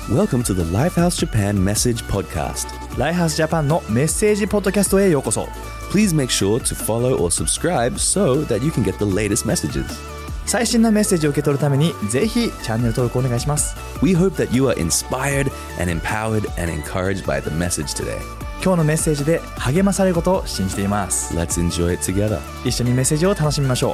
Welcome to the Lifehouse Japan Message Podcast. ライハースジャパンのメッセージポッドキャストへようこそ。 Please make sure to follow or subscribe so that you can get the latest messages. 最新のメッセージを受け取るためにぜひチャンネル登録お願いします。 We hope that you are inspired and empowered and encouraged by the message today. 今日のメッセージで励まされることを信じています。 Let's enjoy it together. 一緒にメッセージを楽しみましょう。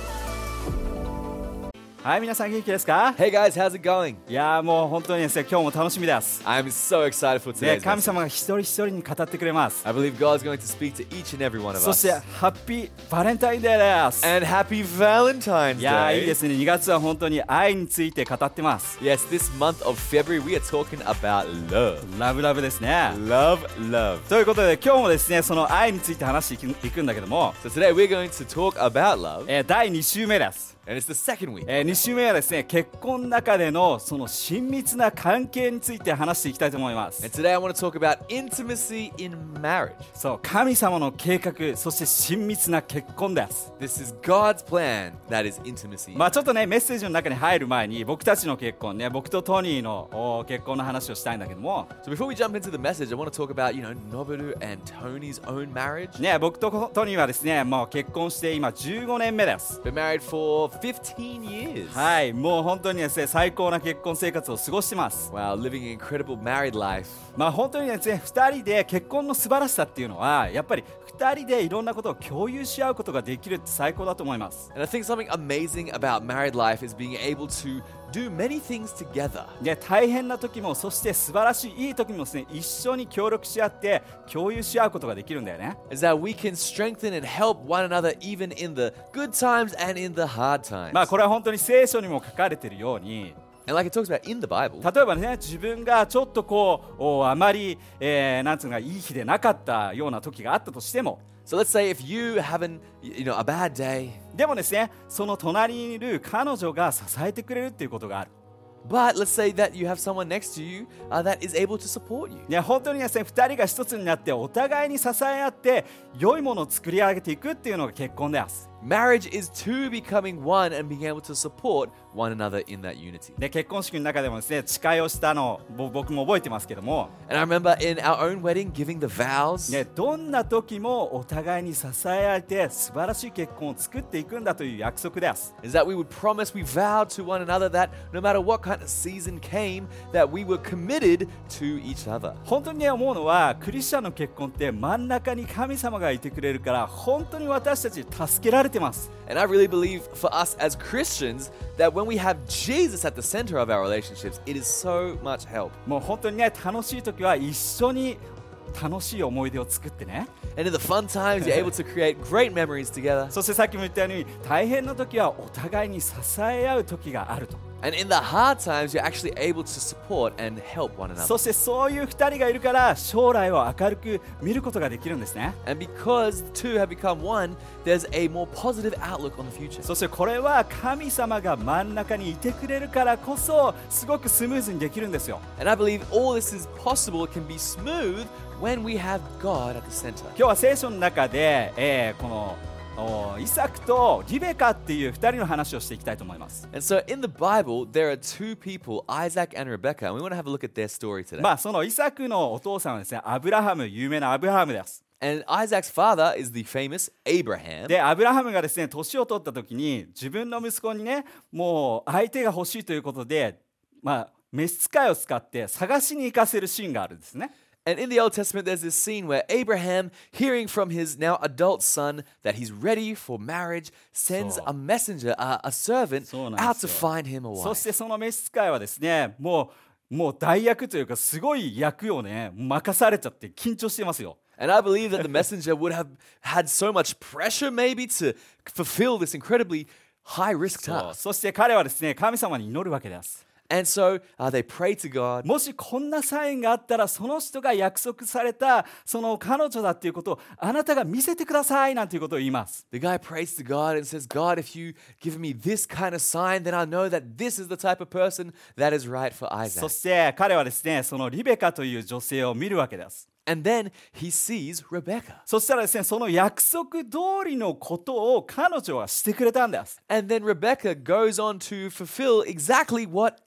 はい、皆さん元気ですか？ Hey guys, how's it going? いやーもう本当にですね、今日も楽しみです。 I'm so excited for ね、 today's 神 message. 様が一人一人に語ってくれます。 I believe God's going to speak to each and every one of そして us. ハッピーバレンタインデーです。 And happy Valentine's いやーいいで Day. すね、2月は本当に愛について語ってます。 Yes, this month of February we are talking about love. ラブラブですね。 Love, love. ということで今日もですね、その愛について話していくんだけども、 So today we're going to talk about love. 第2週目です。 And it's the second week. 2週目はですね、結婚の中でのその親密な関係について話していきたいと思います。 And today I want to talk about intimacy in marriage. そう、神様の計画、そして親密な結婚です。 This is God's plan that is intimacy. まあちょっとね、メッセージの中に入る前に僕たちの結婚ね、僕とトニーの結婚の話をしたいんだけども、 So before we jump into the message, I want to talk about, Noboru and Tony's own marriage. ね、僕とトニーはですね、もう結婚して今15年目です。 Been married for 15 years. はい、もう本当にですね、最高な結婚生活を過ごしてます。 Wow, living an incredible married life. まあ本当にですね、2人で結婚の素晴らしさっていうのはやっぱり2人でいろんなことを共有し合うことができるって最高だと思います。 And I think something amazing about married life is being able to do many things together. で、大変な時もそして素晴らしいいい時もですね、一緒に協力し合って共有し合うことができるんだよね。 Is that we can strengthen and help one another even in the good times and in the hard times. まあこれは本当に聖書にも書かれているように、 And like it talks about in the Bible, 例えばね、自分がちょっとあまり、なんつうのかいい日でなかったような時があったとしても、 so let's say if you having, a bad day, でもですね、その隣にいる彼女が支えてくれるっていうことがある。 but let's say that you have someone next to you that is able to support you. ね、本当にですね、2人が一つになってお互いに支え合って良いものを作り上げていくっていうのが結婚です。 Marriage is two becoming one and being able to support one another in that unity. で、結婚式の中でもですね、誓いをしたのを僕も覚えてますけども、 And I remember in our own wedding giving the vows. ね、どんな時もお互いに支え合えて素晴らしい結婚を作っていくんだという約束です。 Is that we would promise, we vowed to one another that no matter what kind of season came, that we were committed to each other. 本当にね、思うのはクリスチャンの結婚って真ん中に神様がいてくれるから本当に私たち助けられてます。 And I really believe for us as Christians that when we have Jesus at the center of our relationships, it is so much help. もう本当にね、楽しい時は一緒に楽しい思い出を作ってね、 And in the fun times, you're able to create great memories together. そしてさっきも言ったように大変な時はお互いに支え合う時があると。 And in the hard times, you're actually able to support and help one そ another. してそういう2人がいるから将来を明るく見ることができるんですね。 And because the two have become one, there's a more positive outlook on the future. そしてこれは神様が真ん中にいてくれるからこそすごくスムーズにできるんですよ。 And I believe all this is possible, it can be smooth when we have God at the center. 今日は聖書の中で、このイサクとリベカっていう2人の話をしていきたいと思います。 And so in the Bible, there are two people, Isaac and Rebekah, and we want to have a look at their story today. まあそのイサクのお父さんはですね、アブラハム、有名なアブラハムです。 And Isaac's father is the famous Abraham. で、アブラハムがですね、年を取った時に自分の息子にね、もう相手が欲しいということで、まあ召使いを使って探しに行かせるシーンがあるんですね。 And in the Old Testament, there's this scene where Abraham, hearing from his now adult son that he's ready for marriage, sends a messenger, a servant, そうなんですよ。 out to find him a そ wife. してその召使いはですね、もう代役というかすごい役をね任されちゃって緊張してますよ。 And I believe that the messenger would have had so much pressure maybe to fulfill this incredibly high-risk そう task. そして彼はですね、神様に祈るわけです。 And so they pray to God. もしこんなサインがあったらその人が約束されたその彼女だっていうことをあなたが見せてくださいなんていうことを言います。 The guy prays to God and says, God, if you give me this kind of sign, then I know that this is the type of person that is right for そ Isaac. して彼はですね、そのリベカという女性を見るわけです。 And then he sees Rebekah. そしたらですね、その約束通りのことを彼女はしてくれたんです。 And then Rebekah goes on to fulfill exactly what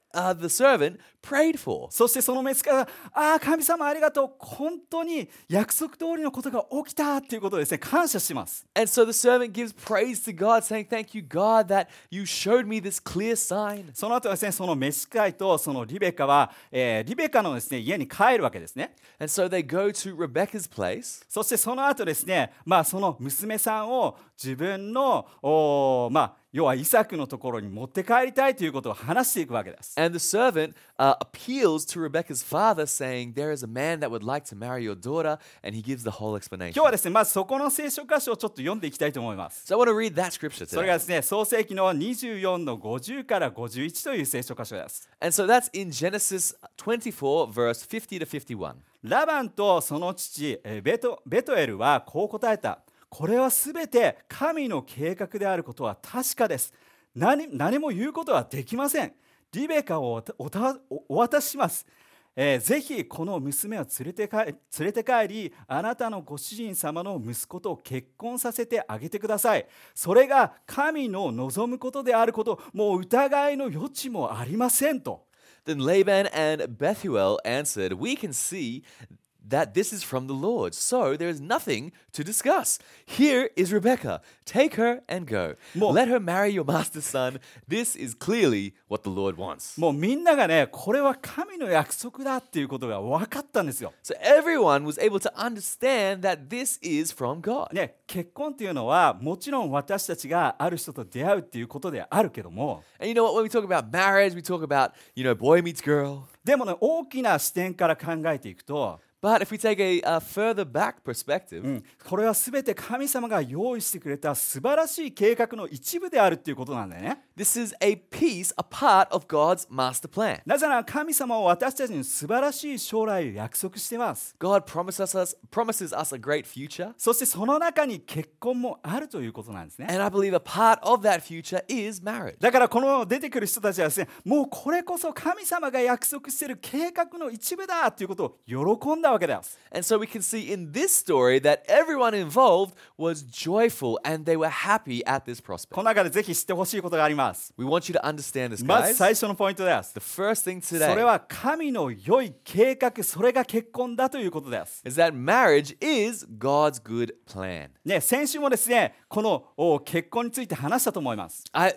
the servant prayed for. そしてその召使いが、ああ、神様ありがとう、本当に約束通りのことが起きたっていうことをですね、感謝します。 And so the servant gives praise to God, saying, Thank you, God, that you showed me this clear sign. その後ですね、その召使いとそのリベカは、リベカのですね、家に帰るわけですね。 And so they go to Rebecca's place. そしてその後ですね、その娘さんを自分の要はイサクのところに持って帰りたいということを話していくわけです。 And the servant appeals to Rebecca's father, saying, There is a man that would like to marry your daughter, and he gives the whole 今 explanation. 日はですね、まずそこの聖書箇所をちょっと読んでいきたいと思います。 So I want to read that scripture それが today. ですね、創世記の24の50から51という聖書箇所です。 And so that's in Genesis 24, verse 50 to 51. ラバンとその父ベトエルはこう答えた。これはすべて神の計画であることは確かです。何も言うことはできません。リベカをお渡しします。ぜひこの娘を連れて帰り、あなたのご主人様の息子と結婚させてあげてください。それが神の望むことであること、もう疑いの余地もありませんと。 Then Laban and Bethuel answered, We can see that this is from the Lord, so there is nothing to discuss. Here is Rebekah. Take her and go. Let her marry your master's son. This is clearly what the Lord wants. もうみんながね、これは神の約束だっていうことが分かったんですよ。 So everyone was able to understand that this is from God. ね、結婚っていうのはもちろん私たちがある人と出会うっていうことであるけども、 And you know what? When we talk about marriage, we talk about, boy meets girl. でもね、大きな視点から考えていくと、 But if we take a further back perspective, これは全て神様が用意してくれた素晴らしい計画の一部であるっていうことなんだよね。 this is a piece, a part of God's master plan. なぜなら神様は私たちに素晴らしい将来を約束してます。 God promises us a great future. そしてその中に結婚もあるということなんですね。 And I believe a part of that future is marriage. だからこの出てくる人たちはですね、もうこれこそ神様が約束している計画の一部だということを喜んだわけです。 And so we can see in this story that everyone involved was joyful and they were happy at this こ prospect. の中でぜひ知ってほしいことがあります。 We want you to understand this, まず guys. 最初のポイントです。 The first thing それ today は神の良い計画、それが結婚だということです。 is that marriage is God's good plan. ね、先週もですね、この結婚について話したと思います。 Last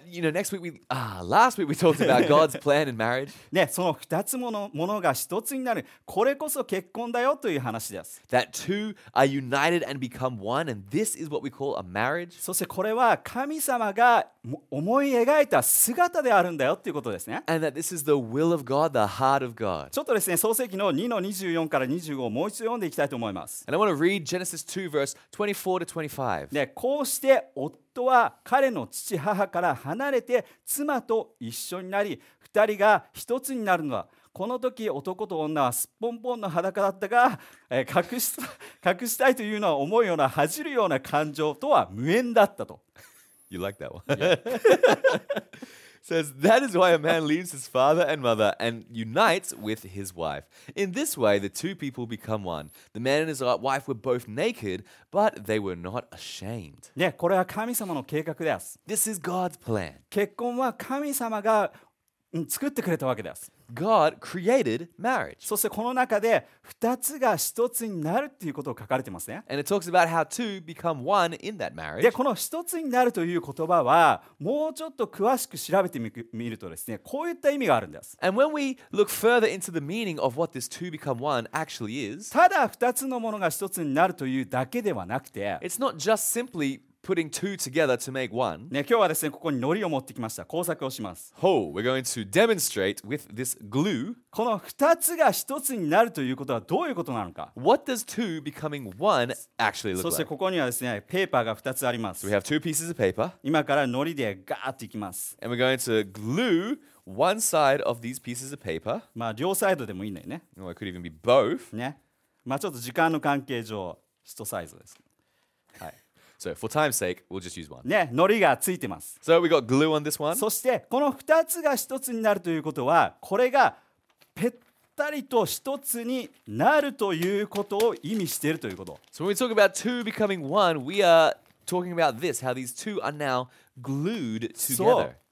week we talked about God's plan in marriage. ね、その2つものが一つになる、これこそ結婚だよという話です。 That two are united and become one, and this is what we call a marriage. そしてこれは神様が思い描いた姿であるんだよということですね。 And that this is the will of God, the heart of God. ちょっとですね、創世記の2の24から25をもう一度読んでいきたいと思います。 And I want to read Genesis 2, verse 24 to 25. ね、こうして夫は彼の父母から離れて妻と一緒になり、2人が一つになるのだ。この時男と女はすっぽんぽんの裸だったが、隠したいというのは思うような恥じるような感情とは無縁だったと。 You like that one? Says, that is why a man leaves his father and mother and unites with his wife. In this way, the two people become one. The man and his wife were both naked, but they were not ashamed. ね、これは神様の計画です。 This is God's plan. 結婚は神様が作ってくれたわけです。 God created marriage. そしてこの中で2つが1つになるっていうことを書かれてますね。 And it talks about how two become one in that marriage. で、この1つになるという言葉はもうちょっと詳しく調べてみるとですね、こういった意味があるんです。 And when we look further into the meaning of what this two become one actually is, ただ2つのものが1つになるというだけではなくて、 it's not just simply putting two together to make one. ね、今日はですね、ここに糊を持ってきました。工作をします。 Oh, we're going to demonstrate with this glue. この2つが1つになるということはどういうことなのか。 What does two becoming one actually そ look して like? ここにはですね、ペーパーが2つありま So す we。have two pieces of paper, 今から糊でガーッといきます。 and we're going to glue one side of these pieces of paper. 両サイドでもいいんだよね。 Or it could even be both. ね。ちょっと時間の関係上、1サイズです。はい。 So for time's sake, we'll just use one. ね、糊がついてます。 So we got glue on this one. そしてこの2つが1つになるということは、これがぺったりと1つになるということを意味しているということ。 So when we talk about two becoming one, we are talking about this, how these two are now glued そう together.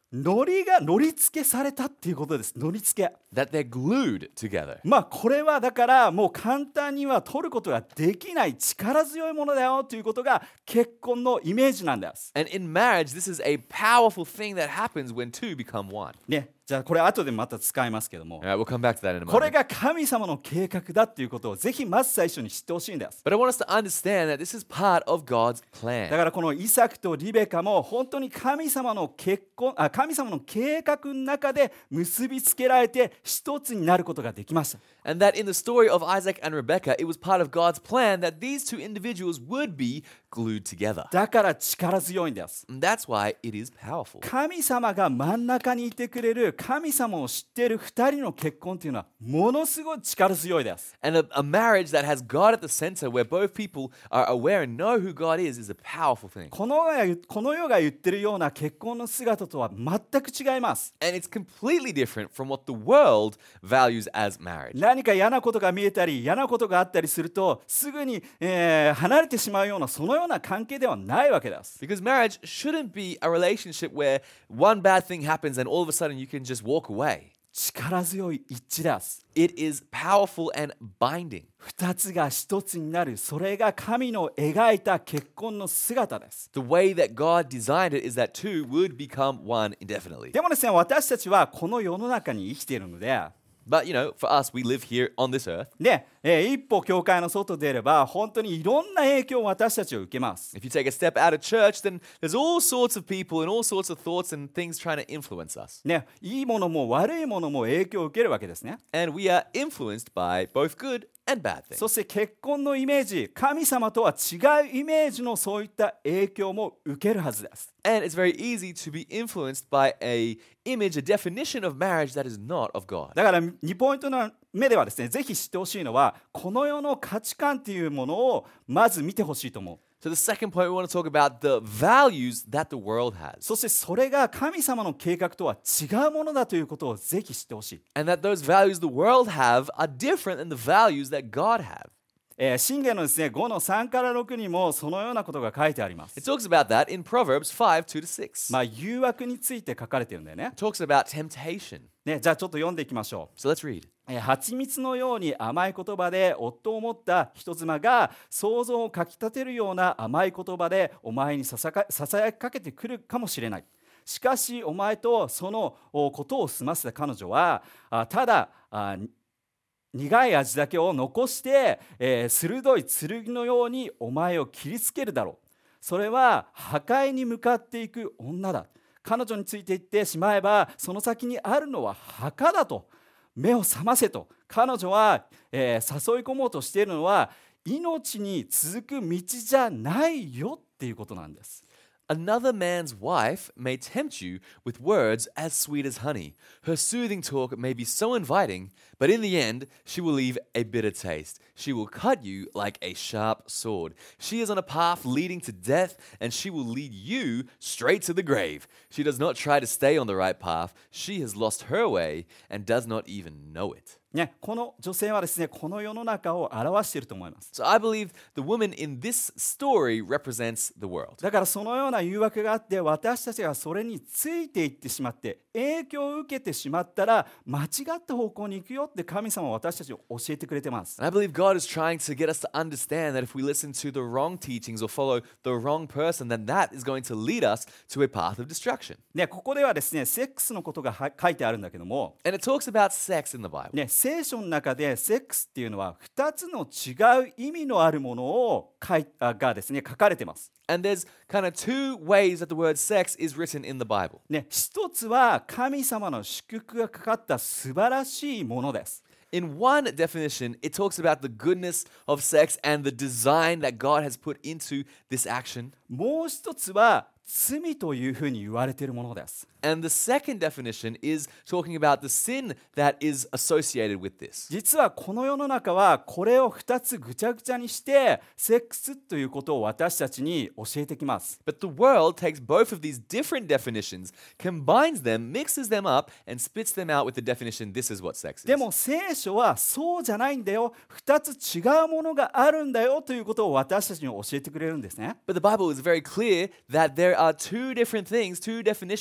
乗り付けされたっていうことです。乗り付け。 that they're glued together. これはだからもう簡単には取ることができない力強いものだよということが結婚のイメージなんです。 And in marriage, this is a powerful thing that happens when two become one. ね、じゃあこれ後でまた使いますけども、 All right, we'll come back to that in a これ moment. が神様の計画だっていうことをぜひまず最初に知ってほしいんです。 But I want us to understand that this is part of God's だ plan. からこのイサクとリベカも本当に神様の神様の計画の中で結びつけられて一つになることができました。 And that in the story of Isaac and Rebekah, it was part of God's plan that these two individuals would be glued together. だから力強いんです。 And that's why it is powerful. 神様が真ん中にいてくれる神様を知っている2人の結婚というのはものすごい力強いです。 And a marriage that has God at the center, where both people are aware and know who God is a powerful thing. この世が言ってるような結婚の姿とは全く違います。 And it's completely different from what the world values as marriage. 何か嫌なことが見えたり嫌なことがあったりするとすぐに、離れてしまうようなそのような関係ではないわけです。 Because marriage shouldn't be a relationship where one bad thing happens and all of a sudden you can just walk away. 力強い一致です。 It is powerful and binding. 二つが一つになる、それが神の描いた結婚の姿です。 The way that God designed it is that two would become one indefinitely. でもですね、私たちはこの世の中に生きているので、 But you know, for us, we live here on this earth. ね、一歩教会の外出れば本当にいろんな影響を私たちは受けます。 If you take a step out of church, then there's all sorts of people and all sorts of thoughts and things trying to influence us. ね、いいものも悪いものも影響を受けるわけですね。 And we are influenced by both good and bad things. そして結婚のイメージ、神様とは違うイメージのそういった影響も受けるはずです。 And it's very easy to be influenced by a image, a definition of marriage that is not of God. だから2ポイントの目ではですね、ぜひ知ってほしいのはこの世の価値観というものをまず見てほしいと思う。 So the second point, we want to talk about the values that the world has. そしてそれが神様の計画とは違うものだということをぜひ知ってほしい。 And that those values the world have are different than the values that God have. 箴言のですね、5の3から6にもそのようなことが書いてあります。 It talks about that in Proverbs 5, 2-6. 誘惑について書かれてるんだよね。 It talks about temptation. じゃあちょっと読んでいきましょう。 So let's read. 蜂蜜のように甘い言葉で夫を持った人妻が想像をかきたてるような甘い言葉でお前にささやきかけてくるかもしれない。しかしお前とそのことを済ませた彼女はただ苦い味だけを残して、鋭い剣のようにお前を切りつけるだろう。それは破壊に向かっていく女だ。彼女についていってしまえばその先にあるのは墓だと。目を覚ませと。彼女は、誘い込もうとしているのは命に続く道じゃないよっていうことなんです。 Another man's wife may tempt you with words as sweet as honey. Her soothing talk may be so inviting, but in the end, she will leave a bitter taste. She will cut you like a sharp sword. She is on a path leading to death, and she will lead you straight to the grave. She does not try to stay on the right path. She has lost her way and does not even know it. ね、この女性はですね、この世の中を表していると思います。 So I believe the woman in this story represents the world. だからそのような誘惑があって私たちがそれについていってしまって影響を受けてしまったら間違った方向に行くよって神様は私たちを教えてくれてます。 And I believe God is trying to get us to understand that if we listen to the wrong teachings or follow the wrong person, then that is going to lead us to a path of destruction. ね、ここではですね、セックスのことが書いてあるんだけども、 And it talks about sex in the Bible. ね、聖書の中でセックスっていうのは2つの違う意味のあるものをがですね、書かれてます。 And there's kind of two ways that the word sex is written in the Bible. ね、一つは神様の祝福がかかった素晴らしいものです。 In one definition, it talks about the goodness of sex and the design that God has put into this action. もう一つは罪というふうに言われているものです。 And the second definition is talking about the sin that is associated with this. 実はこの世の中はこれを2つぐちゃぐちゃにしてセックスということを私たちに教えてきます。 But the world takes both of these different definitions, combines them, mixes them up, and spits them out with the definition, this is what sex で is. も聖書はそうじゃないんだよ。2つ違うものがあるんだよということを私たちに教えてくれるんですね。 But the Bible is very clear that there are two different things, two definitions happening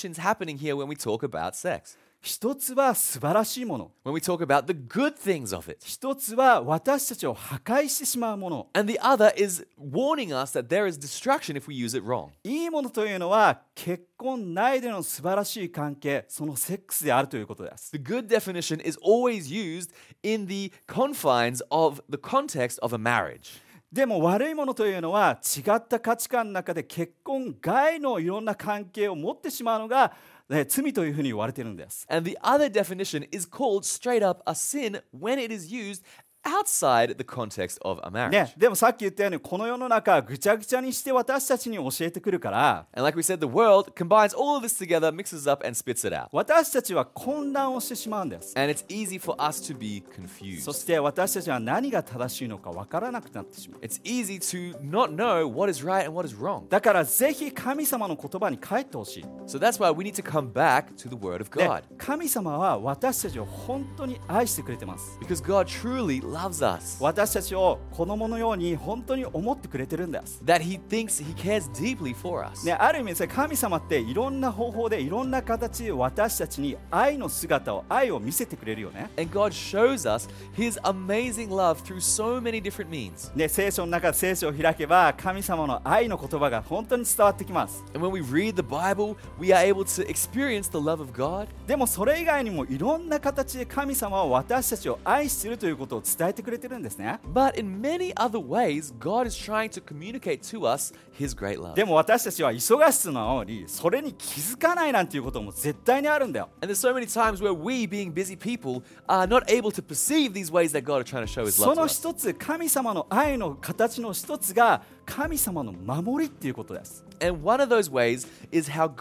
happening here when we talk about sex? 一つは素晴らしいもの。 When we talk about the good things of it. 一つは私たちを破壊してしまうもの。 And the other is warning us that there is destruction if we use it wrong. いいものというのは結婚内での素晴らしい関係、そのセックスであるということです。 The good definition is always used in the confines of the context of a marriage. でも悪いものというのは違った価値観の中で結婚外のいろんな関係を持ってしまうのが、罪というふうに言われているんです。 And the other definition is called straight up a sin when it is used outside the context of a marriage. ね、でもさっき言ったようにこの世の中ぐちゃぐちゃにして私たちに教えてくるから、 And like we said, the world combines all of this together, mixes up and spits it out. 私たちは混乱をしてしまうんです。 And it's easy for us to be そ confused. して私たちは何が正しいのか分からなくなってしまう。 It's easy to not know what is right and what is wrong. だからぜひ神様の言葉に帰ってほしい。 So that's why we need to come back to the Word of で God. 神様は私たちを本当に愛してくれてます。 Because God truly loves us. 私たちを子供のように本当に思ってくれてるんです。 That He thinks He cares deeply for us. ね、ある意味ですね、神様っていろんな方法でいろんな形で私たちに愛の姿を、愛を見せてくれるよね。 And God shows us His amazing love through so many different means. ね、聖書の中で聖書を開けば神様の愛の言葉が本当に伝わってきます。 And when we read the Bible, we are able to experience the love of God. でもそれ以外にもいろんな形で神様は私たちを愛しているということを伝えてくれてるんですね。 But in many other ways, God is trying to communicate to us His great love. でも私たちは忙しさのようにそれに気づかないなんていうことも絶対にあるんだよ。 And there's so many times where we, being busy people, are not able to perceive these ways that God is trying to show His そ love to の us. 一つ、神様の愛の形の一つが神様の守りっていうことです。 And one of those ways is how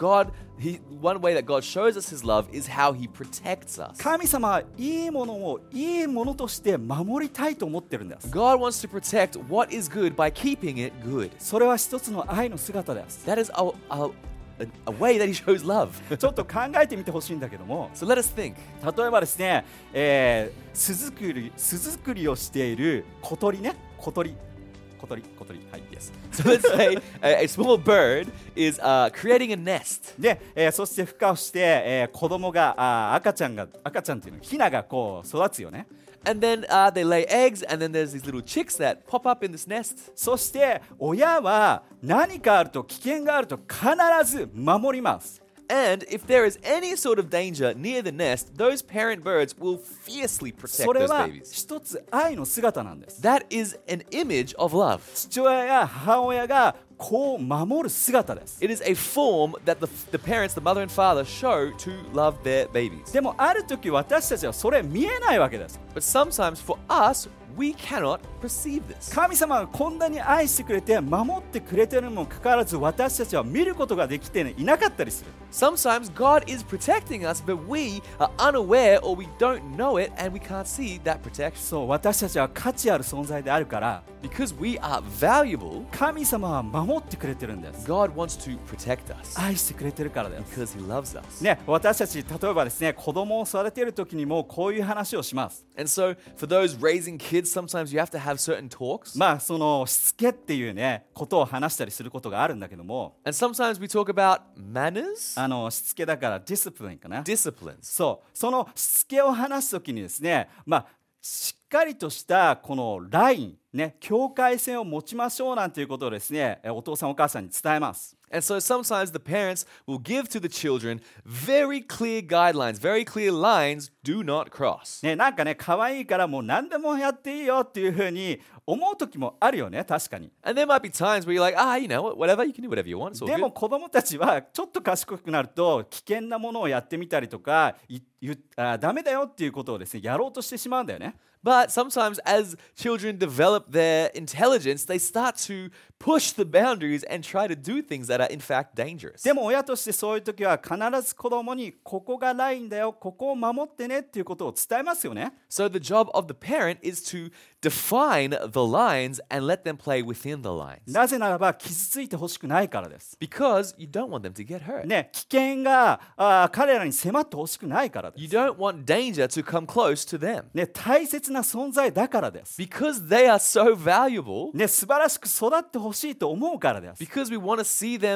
one way that God shows us His love is how He protects us. 神様はいいものをいいものとして守りたいと思ってるんです。 God wants to protect what is good by keeping it good. それは一つの愛の姿です。 That is a way that He shows love. ちょっと考えてみてほしいんだけども、 So let us think. 例えばですね、巣作りをしている小鳥ね、小鳥、はい、yes。 So let's say a small bird is creating a nest. で、そして孵化をして、子供が赤ちゃんっていうのヒナがこう育つよね。 And then they lay eggs, and then there's these little chicks that pop up in this nest. そして親は何かあると危険があると必ず守ります。 And if there is any sort of danger near the nest, those parent birds will fiercely protect それ those は babies. 一つ愛の姿なんです。 That is an image of love. 父親や母親がこう守る姿です。 It is a form that the parents, the mother and father, show to love their babies. でもある時私たちはそれ見えないわけです。 But sometimes for us, we cannot perceive this. 神様がこんなに愛してくれて守ってくれているにもかかわらず私たちは見ることができていなかったりする。 Sometimes God is protecting us, but we are unaware or we don't know it and we can't see that protection. そう、私たちは価値ある存在であるから Because we are valuable, 神様は守ってくれてるんです。 God wants to protect us 愛してくれてるからです。 because He loves us. ね、私たち例えばですね、子供を育てる時にもこういう話をします。 And so, for those raising kids, sometimes you have to have certain talks. まあそのしつけっていうねことを話したりすることがあるんだけども、 And sometimes we talk about manners, しつけだからディスプリンかな。 disciplines. そう、そのしつけを話すときにですね、まあしっかりとしたこのラインね、境界線を持ちましょうなんていうことをですね、お父さんお母さんに伝えます。 And so sometimes the parents will give to the children very clear guidelines, very clear lines, do not cross. ね、なんかね可愛いからもう何でもやっていいよっていうふうに思う時もあるよね、確かに。 And there might be times where you're like, you know, whatever, you can do whatever you want. It's all でも good. 子供たちはちょっと賢くなると危険なものをやってみたりとかダメだよっていうことをですねやろうとしてしまうんだよね。 But sometimes as children develop their intelligence, they start to push the boundaries and try to do things that are in fact dangerous. でも親としてそういう時は必ず子供にここがラインだよ、ここを守ってねっていうことを伝えますよね。 So the job of the parent is to define the lines and let them play within the lines. なぜならば傷ついてほしくないからです。 Because you don't want them to get hurt. ね、危険が彼らに迫ってほしくないからで You す。 don't want danger to come close to them. ね、大切な存在だからです。 Because they are so valuable, ね、素晴らしく育ってほしいと思うからです。 because we want to see them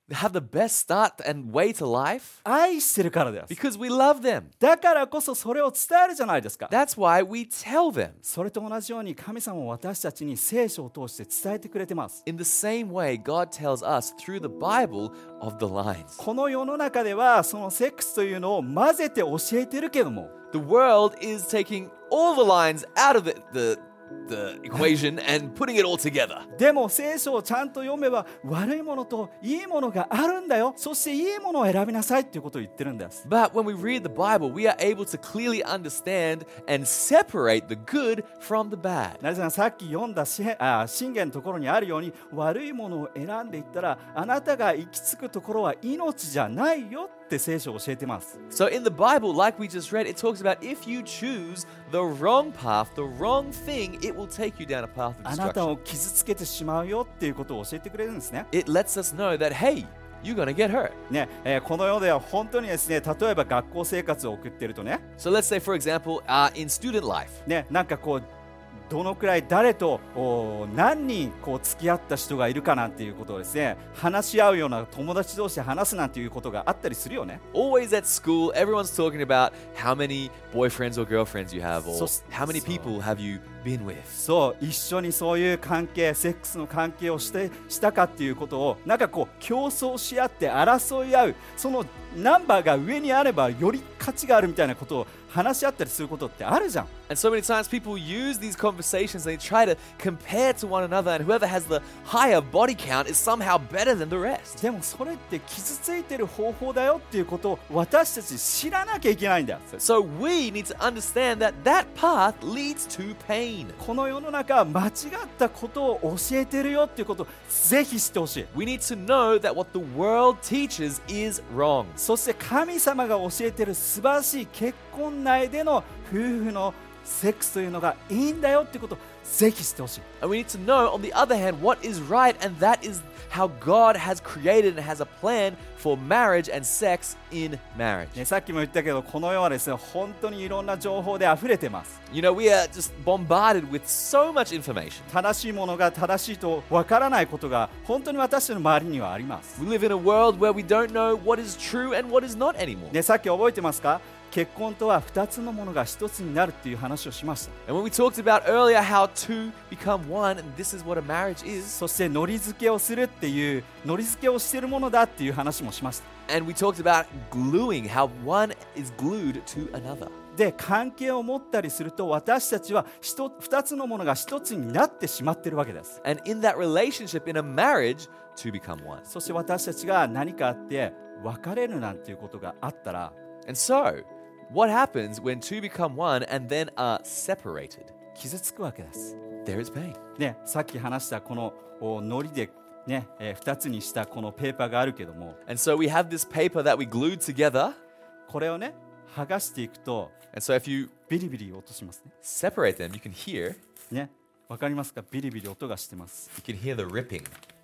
have the best start and way to life? 愛してるからです。 Because we love them. だからこそそれを伝えるじゃないですか。 That's why we tell them. それと同じように神様も私たちに聖書を通して伝えてくれてます。 In the same way, God tells us through the Bible of the lines. この世の中ではそのセックスというのを混ぜて教えてるけども、 The world is taking all the lines out of the equation and putting it all together. でも聖書をちゃんと読めば悪いものといいものがあるんだよ。そしていいものを選びなさいっていうことを言ってるんです。 But when we read the Bible, we are able to clearly understand and separate the good from the bad. なぜならさっき読んだ箴言のところにあるように、悪いものを選んでいったらあなたが行き着くところは命じゃないよって聖書を教えてます。 So in the Bible, like we just read, it talks about if you choose the wrong path, the wrong thing, it will take you down a path of あなた destruction. を傷つけてしまうよっていうことを教えてくれるんですね。 It lets us know that, hey, you're going to get hurt. ね、この世では本当にですね、例えば学校生活を送っているとね、 So let's say, for example, in student life, なんかこうどのくらい誰と何人こう付き合った人がいるかなんていうことをですね、話し合うような友達同士で話すなんていうことがあったりするよね。 always at school, everyone's talking about how many boyfriends or girlfriends you have, or So- how many people have you been with. そう一緒にそういう関係、セックスの関係をしたかっていうことをなんかこう競争し合って争い合う、そのナンバーが上にあればより価値があるみたいなことを話し合ったりすることってあるじゃん。 And so many times people use these conversations, they try to compare to one another, and whoever has the higher body count is somehow better than the rest. でもそれって傷ついてる方法だよっていうことを私たち知らなきゃいけないんだよ。 So we need to understand that that path leads to pain. この世の中は間違ったことを教えてるよっていうことをぜひ知ってほしい。 We need to know that what the world teaches is wrong. そして神様が教えてる素晴らしい結婚内での夫婦のセックスというのがいいんだよっていうことをぜひ知ってほしい。 And we need to know, on the other hand, what is right, and that is how God has created and has a plan for marriage and sex in marriage. ね、さっきも言ったけどこの世はですね本当にいろんな情報で溢れてます。 You know, we are just bombarded with so much information. 正しいものが正しいとわからないことが本当に私たちの周りにはあります。 We live in a world where we don't know what is true and what is not anymore. ね、さっき覚えてますか？結婚とは2つのものが1つになるっていう話をしました。 And when we talked about earlier how two become one, and this is what a marriage is, そしてノリ付けをするっていうノリ付けをしているものだっていう話もしました。 and we talked about gluing, how one is glued to another. で関係を持ったりすると私たちは2つのものが1つになってしまっているわけです。 And in that relationship, in a marriage, two become one. そして私たちが何かあって別れるなんていうことがあったら And so, what happens when two become one and then are separated? 傷つくわけです。 There is pain. ね、さっき話したこのノリで、ね2つにしたこのペーパーがあるけども And so we have this paper that we glued together. これをね剥がしていくと And so if you ビリビリ音しますね。 separate them, you can hear ね、わかりますか？ビリビリ音がしてます。 you can hear the ripping.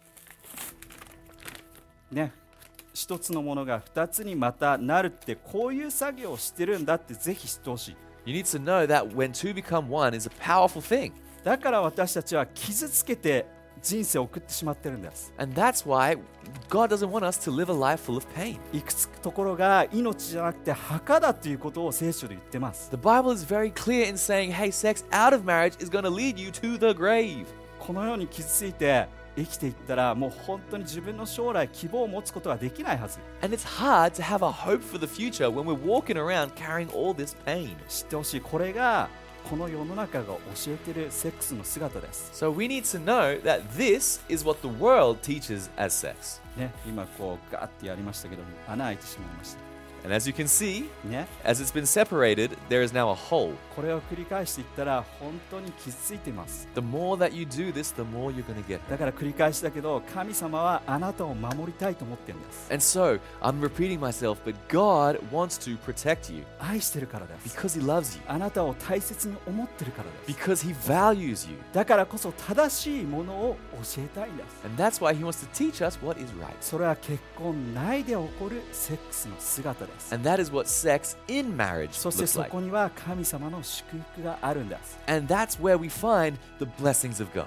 ね、一つのものが二つにまたなるってこういう作業をしてるんだってぜひ知ってほしい。 You need to know that when two become one is a powerful thing. だから私たちは傷つけて人生を送ってしまってるんです。 And that's why God doesn't want us to live a life full of pain. いくつくところが命じゃなくて墓だということを聖書で言ってます。 The Bible is very clear in saying, hey, sex out of marriage is going to lead you to the grave. このように傷ついて生きていったらもう本当に自分の将来希望を持つことができないはず。 And it's hard to have a hope for the future when we're walking around carrying all this pain. 知ってほしい。これがこの世の中が教えているセックスの姿です。 So we need to know that this is what the world teaches as sex. ね、今こうガーってやりましたけども穴開いてしまいました。 And as you can see, ね、 as it's been separated, there is now a hole. これを繰り返していったら本当に傷ついています。 The more that you do this, the more you're going to get. だから繰り返しだけど神様はあなたを守りたいと思ってるんです。 And so, I'm repeating myself, but God wants to protect you 愛してるからです。 because He loves you, あなたを大切に思ってるからです。 because He values you. だからこそ正しいものを教えたいんです。 And that's why He wants to teach us what is right. それは結婚内で起こるセックスの姿です。 And that is what sex in marriage そして looks そ like. こには神様の祝福があるんです。 And that's where we find the blessings of God.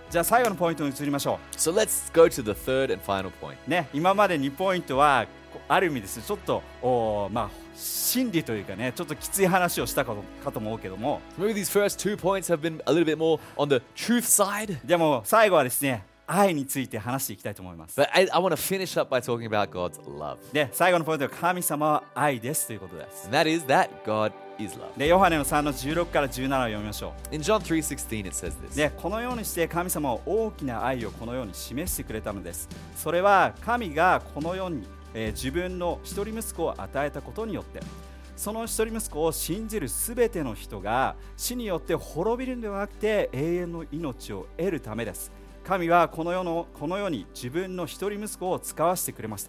じゃあ最後のポイントに移りましょ So let's go to the third and final point. う。ね、今まで2ポイントはある意味ですね、ちょっと真理というかね、ちょっときつい話をしたかと思うけども、 Maybe these first 2 points have been a little bit more on the truth side. でも最後はですね、愛について話していきたいと思います。 But I want to finish up by talking about God's love. で、最後のポイントは神様は愛ですということです。 And that is that God is love. で、ヨハネの3の16から17を読みましょ In John 3:16 it says う。 this. で、このようにして神様は大きな愛をこのように示してくれたのです。それは神がこの世に、自分の一人息子を与えたことによって、その一人息子を信じるすべての人が死によって滅びるのではなくて永遠の命を得るためです。神はこの世に自分の一人息子を使わせてくれました。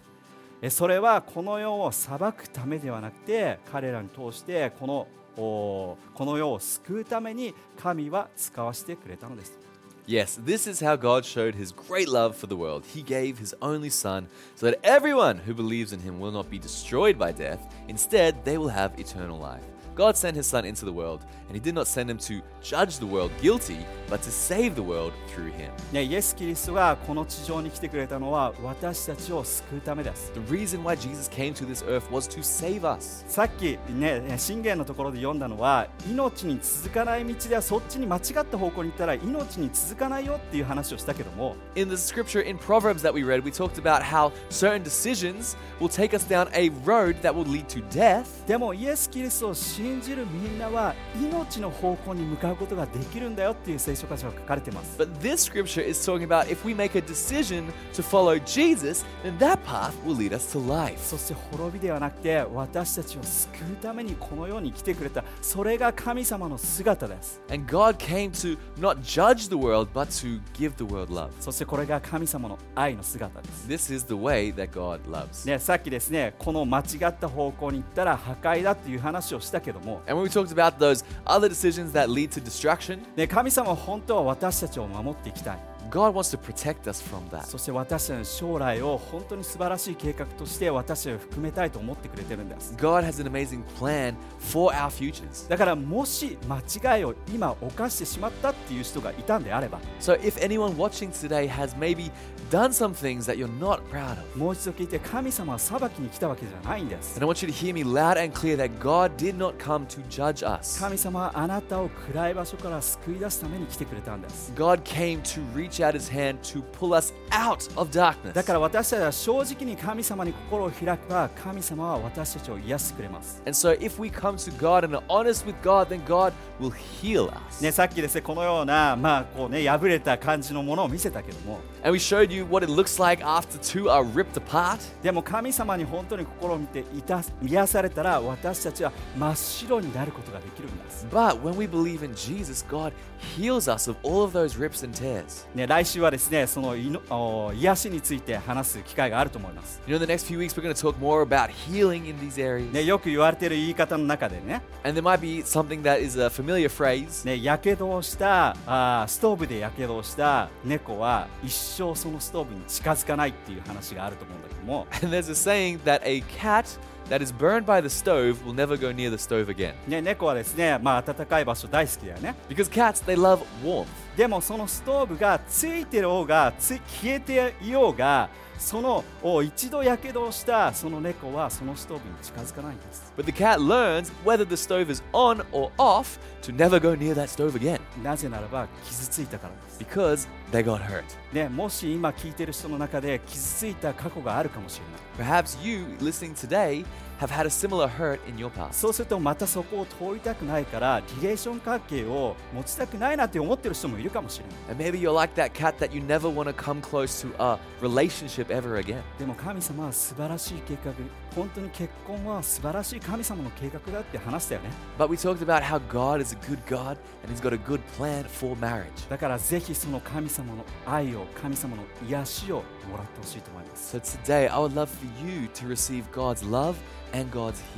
それはこの世を裁くためではなくて、彼らに通してこの世を救うために神は使わせてくれたのです。 Yes, this is how God showed his great love for the world. He gave his only son so that everyone who believes in him will not be destroyed by death. Instead, they will have eternal life. God sent his son into the world, and he did not send him to judge the world guilty, but to save the world through him. ね、イエス・キリストがこの地上に来てくれたのは私たちを救うためです。 The reason why Jesus came to this earth was to save us. さっきね、箴言のところで読んだのは、命に続かない道ではそっちに間違った方向に行ったら命に続かないよっていう話をしたけども、 In the scripture in Proverbs that we read, we talked about how certain decisions will take us down a road that will lead to death. でもイエス・キリストを信じるみんなは命の方向に向かうことができるんだよっていう聖書箇所が書かれています。 But this scripture is talking about if we make a decision to follow Jesus, then that path will lead us to life. そして滅びではなくて私たちを救うためにこの世に来てくれた、それが神様の姿です。 And God came to not judge the world, but to give the world love. そしてこれが神様の愛の姿です。 This is the way that God loves. ね、さっきですね、この間違った方向に行ったら破壊だっていう話をしたけども、 And when we talked about those other decisions that lead to destruction, ね、神様は本当は私たちを守っていきたい。 God wants to protect us from that. そして私たちの将来を本当に素晴らしい計画として私たちを含めたいと思ってくれてるんです。 God has an amazing plan for our futures. だからもし間違いを今犯してしまったっていう人がいたんであれば、 So if anyone watching today has maybe done some things that you're not proud of, もう一度聞いて、神様は裁きに来たわけじゃないんです。 and I want you to hear me loud and clear that God did not come to judge us. 神様はあなたを暗い場所から救い出すために来てくれたんです。 God came to reach out his hand to pull us out of darkness. だから私たちは正直に神様に心を開けば、神様は私たちを癒してくれます。 And so if we come to God and are honest with God, then God will heal us. ね、さっきですね、このような、破れた感じのものを見せたけども、 And we showed you what it looks like after two are ripped apart. でも神様に本当に心を見て癒されたら、私たちは真っ白になることができるんです。 But when we believe in Jesus, God heals us of all of those rips and tears. ね、来週はですね、その癒しについて話す機会があると思います。 You know, the next few weeks we're going to talk more about healing in these areas. ね、よく言われている言い方の中でね、 And there might be something that is a familiar phrase. ね、やけどをしたストーブでやけどをした猫は一生そのストーブに近づかないっていう話があると思うんだけども、 And there's a saying that a cat that is burned by the stove will never go near the stove again. ね、猫はですね、暖かい場所大好きだよね。 Because cats, they love warmth. でもそのストーブがついてる方が消えていようが、その一度やけどをしたその猫はそのストーブに近づかないんです。 But the cat learns whether the stove is on or off to never go near that stove again. なぜならば傷ついたからです。 Because they got hurt. ね、もし今聞いてる人の中で傷ついた過去があるかもしれない。 Perhaps you listening today have had a similar hurt in your past. そうするとまたそこを通りたくないからリレーション関係を持ちたくないなって思ってる人もいるかもしれない。 And maybe you're like that cat that you never want to come close to a relationship ever again. でも神様は素晴らしい計画、本当に結婚は素晴らしい神様の計画だって話したよね。 But we talked about how God is a good God and He's got a good plan for marriage. だからぜひその神様の愛を、神様の癒しをもらってほしいと思います。 So today I would love for you to receive God's love and God's healing.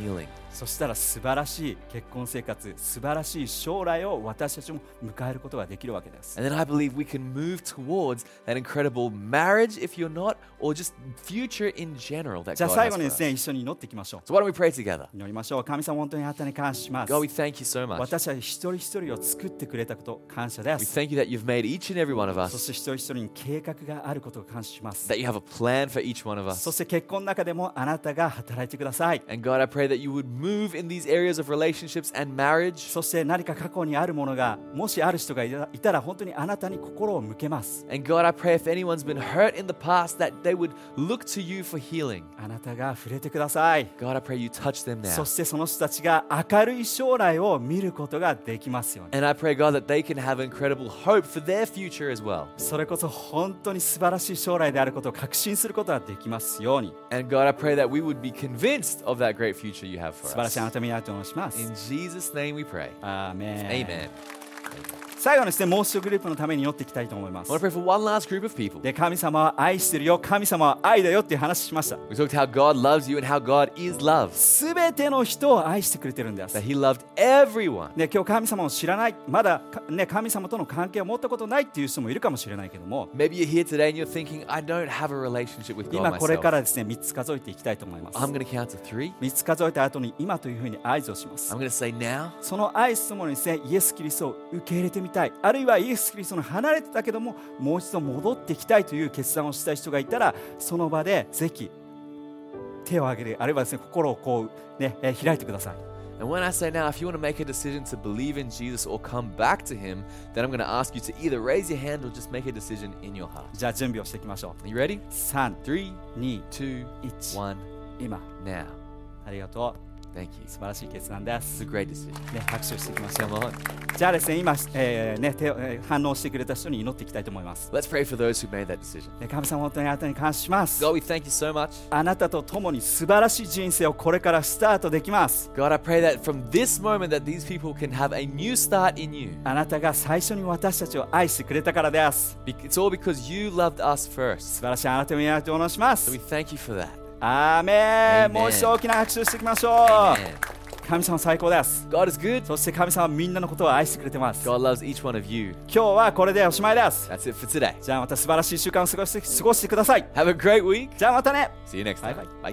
そしたら素晴らしい結婚生活、素晴らしい将来を私たちも迎えることができるわけです。 And then I believe we can move towards that incredible marriage if you're not, or just future in general that じゃあ God 最 has 後 for にで us. すね、一緒に祈っていきましょう。 So why don't we pray together? 祈りましょう。神様、本当にあなたに感謝します。 God, we thank you so much. 私たち一人一人を作ってくれたこと感謝で We す。 thank you that you've made each and every one of そ us, して一人一人に計画があることを感謝します。 that you have a plan for each one of そ us. して結婚の中でもあなたが働いてください。 And God, I pray that you would move in these areas of relationships and marriage. そして何か過去にあるものがもしある人がいたら本当にあなたに心を向けます。 And God, I pray if anyone's been hurt in the past, that they would look to you for healing. あなたが触れてください。 God, I pray you touch them そ now. してその人たちが明るい将来を見ることができますように。 And I pray, God, that they can have incredible hope for their future as well. それこそ本当に素晴らしい将来であることを確信することができますように。 And God, I pray that we would be convinced of that great future you have 素 for 晴らしい us. あなたを皆とお願いします。 In Jesus' name we pray. アーメン。 Amen. 最後のですね、もう一度グループのために祈っていきたいと思いま I す。 want to pray for one last group of people. で、神様は愛してるよ、神様は愛だよっていう話しました。 We talked how God loves you and how God is love. すべての人を愛してくれてるんです。 That He loved everyone. ね、今日神様を知らない、まだ、ね、神様との関係を持ったことないっていう人もいるかもしれないけども、 Maybe you're here today and you're thinking, I don't have a relationship with God 今これか myself. らですね、3つ数えていきたいと思います。 I'm going to count to 3. 3つ数えた後に今というふうに合図をします。 I'm going to say now. その合図ともにですね、イエス・キリストを受け入れてみたい、あるいはイエス・キリストの離れてたけどももう一度戻ってきたいという決断をした人がいたら、その場でぜひ手を挙げる、あるいはですね、心をこう、ね、開いてください。 And when I say now, if you want to make a decision to believe in Jesus or come back to Him, then I'm going to ask you to either raise your hand or just make a decision in your heart. じゃあ準備をしていきましょう。 Are you ready? 3、 3, 2、 2, 1 1, 今。 now. ありがとう。 Thank you. 素晴らしい決断で It's す。 a great decision. ね、拍手をしていきましょう。 Come on. じゃあですね、今、ね、反応してくれた人に祈っていきたいと思います。 Let's pray for those who made that decision. ね、神様、本当にあなたに感謝します。 God, we thank you so much. あなたと共に素晴らしい人生をこれからスタートできます。 God, I pray that from this moment that these people can have a new start in you. あなたが最初に私たちを愛してくれたからです。 It's all because you loved us 素 first. 晴らしいあなたを皆とお願いしま So す we。thank you for that. アーメン。 Amen. もう一度大きな拍手をしていきましょう。 Amen. 神様最高です。 God is good. そして神様はみんなのことを愛してくれてます。 God loves each one of you. 今日はこれでおしまいです。 That's it for today. じゃあまた素晴らしい週間を過ごしてください。 Have a great week. じゃあまたね。 See you next time. Bye-bye. Bye.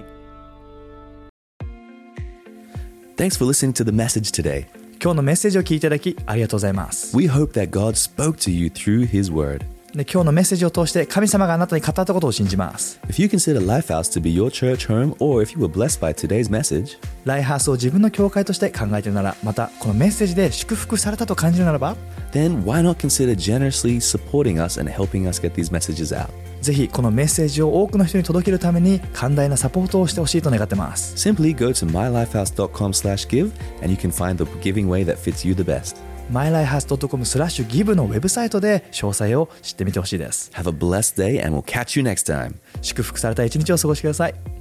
Thanks for listening to the message today. 今日のメッセージを聞いていただきありがとうございます。 We hope that God spoke to you through His Word. で今日のメッセージを通して神様があなたに語ったことを信じます。 If you consider Lifehouse to be your church home, or if you were blessed by today's message, ライハースを自分の教会として考えているなら、またこのメッセージで祝福されたと感じるならば、 then why not consider generously supporting us and helping us get these messages out? ぜひこのメッセージを多くの人に届けるために寛大なサポートをしてほしいと願ってます。 Simply go to mylifehouse.com/give and you can find the giving way that fits you the best. mylifehouse.com/give のウェブサイトで詳細を知ってみてほしいです。 Have a blessed day and we'll catch you next time. 祝福された一日を過ごしてください。